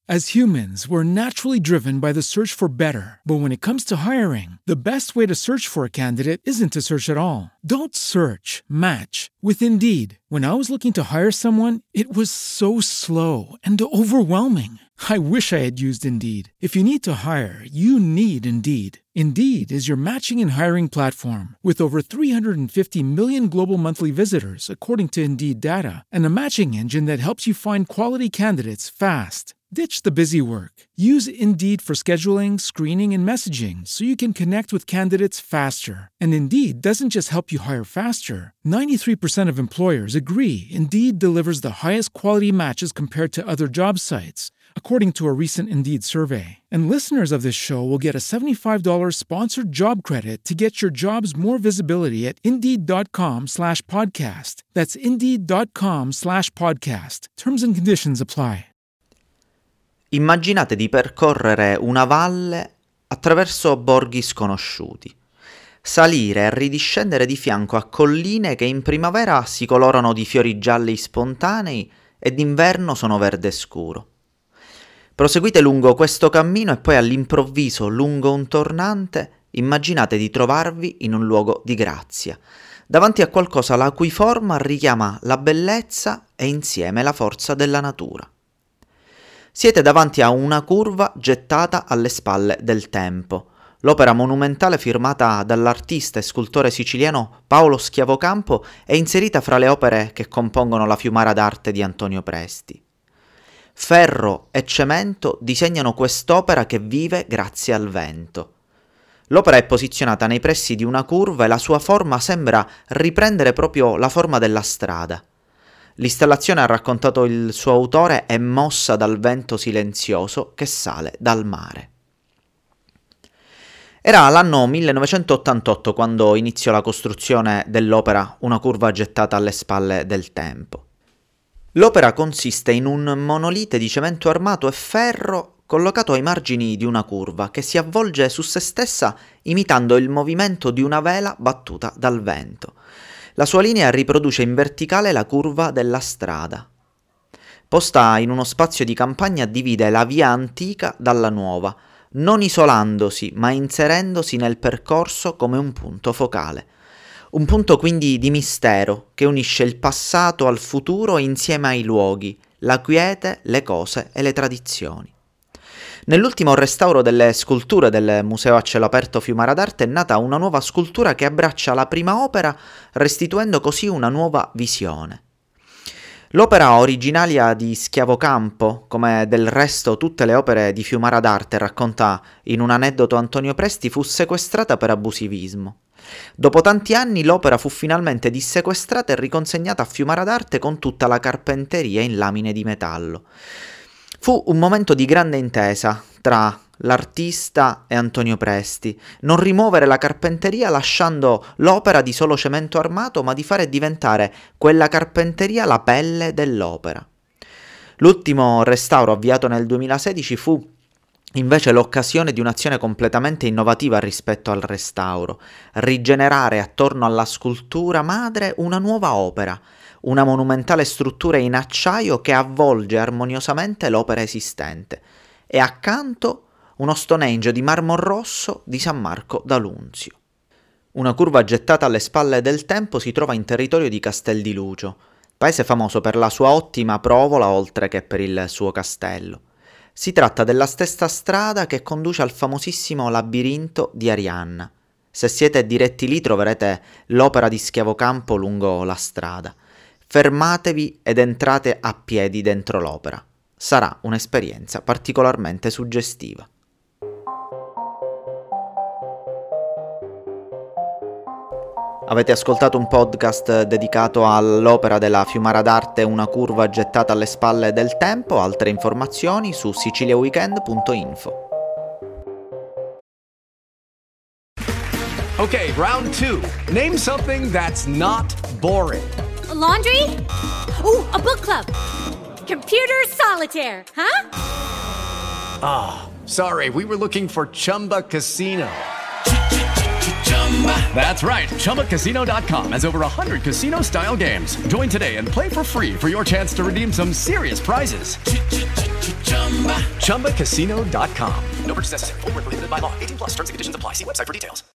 As humans, we're naturally driven by the search for better. But when it comes to hiring, the best way to search for a candidate isn't to search at all. Don't search, match with Indeed. When I was looking to hire someone, it was so slow and overwhelming. I wish I had used Indeed. If you need to hire, you need Indeed. Indeed is your matching and hiring platform with over 350 million global monthly visitors, according to Indeed data, and a matching engine that helps you find quality candidates fast. Ditch the busy work. Use Indeed for scheduling, screening, and messaging so you can connect with candidates faster. And Indeed doesn't just help you hire faster. 93% of employers agree Indeed delivers the highest quality matches compared to other job sites, according to a recent Indeed survey. And listeners of this show will get a $75 sponsored job credit to get your jobs more visibility at Indeed.com/podcast. That's Indeed.com/podcast. Terms and conditions apply. Immaginate di percorrere una valle attraverso borghi sconosciuti, salire e ridiscendere di fianco a colline che in primavera si colorano di fiori gialli spontanei e d'inverno sono verde scuro. Proseguite lungo questo cammino e poi all'improvviso, lungo un tornante, immaginate di trovarvi in un luogo di grazia, davanti a qualcosa la cui forma richiama la bellezza e insieme la forza della natura. Siete davanti a una curva gettata alle spalle del tempo. L'opera monumentale firmata dall'artista e scultore siciliano Paolo Schiavocampo è inserita fra le opere che compongono la Fiumara d'arte di Antonio Presti. Ferro e cemento disegnano quest'opera che vive grazie al vento. L'opera è posizionata nei pressi di una curva e la sua forma sembra riprendere proprio la forma della strada. L'installazione, ha raccontato il suo autore, è mossa dal vento silenzioso che sale dal mare. Era l'anno 1988 quando iniziò la costruzione dell'opera Una curva gettata alle spalle del tempo. L'opera consiste in un monolite di cemento armato e ferro collocato ai margini di una curva che si avvolge su se stessa imitando il movimento di una vela battuta dal vento. La sua linea riproduce in verticale la curva della strada. Posta in uno spazio di campagna divide la via antica dalla nuova, non isolandosi ma inserendosi nel percorso come un punto focale. Un punto quindi di mistero che unisce il passato al futuro insieme ai luoghi, la quiete, le cose e le tradizioni. Nell'ultimo restauro delle sculture del Museo a cielo aperto Fiumara d'Arte è nata una nuova scultura che abbraccia la prima opera, restituendo così una nuova visione. L'opera originaria di Schiavocampo, come del resto tutte le opere di Fiumara d'Arte, racconta in un aneddoto Antonio Presti, fu sequestrata per abusivismo. Dopo tanti anni l'opera fu finalmente dissequestrata e riconsegnata a Fiumara d'Arte con tutta la carpenteria in lamine di metallo. Fu un momento di grande intesa tra l'artista e Antonio Presti, non rimuovere la carpenteria lasciando l'opera di solo cemento armato, ma di fare diventare quella carpenteria la pelle dell'opera. L'ultimo restauro avviato nel 2016 fu invece l'occasione di un'azione completamente innovativa rispetto al restauro: rigenerare attorno alla scultura madre una nuova opera, una monumentale struttura in acciaio che avvolge armoniosamente l'opera esistente, e accanto uno Stonehenge di marmo rosso di San Marco d'Alunzio. Una curva gettata alle spalle del tempo si trova in territorio di Castel di Lucio, paese famoso per la sua ottima provola oltre che per il suo castello. Si tratta della stessa strada che conduce al famosissimo labirinto di Arianna. Se siete diretti lì troverete l'opera di Schiavocampo lungo la strada. Fermatevi ed entrate a piedi dentro l'opera. Sarà un'esperienza particolarmente suggestiva. Avete ascoltato un podcast dedicato all'opera della Fiumara d'Arte Una curva gettata alle spalle del tempo. Altre informazioni su siciliaweekend.info. Okay, round 2. Name something that's not boring. A laundry? Ooh, a book club. Computer solitaire, huh? Ah, sorry, we were looking for Chumba Casino. That's right, ChumbaCasino.com has over 100 casino-style games. Join today and play for free for your chance to redeem some serious prizes. ChumbaCasino.com. No purchase necessary. Void where prohibited by law. 18+ terms and conditions apply. See website for details.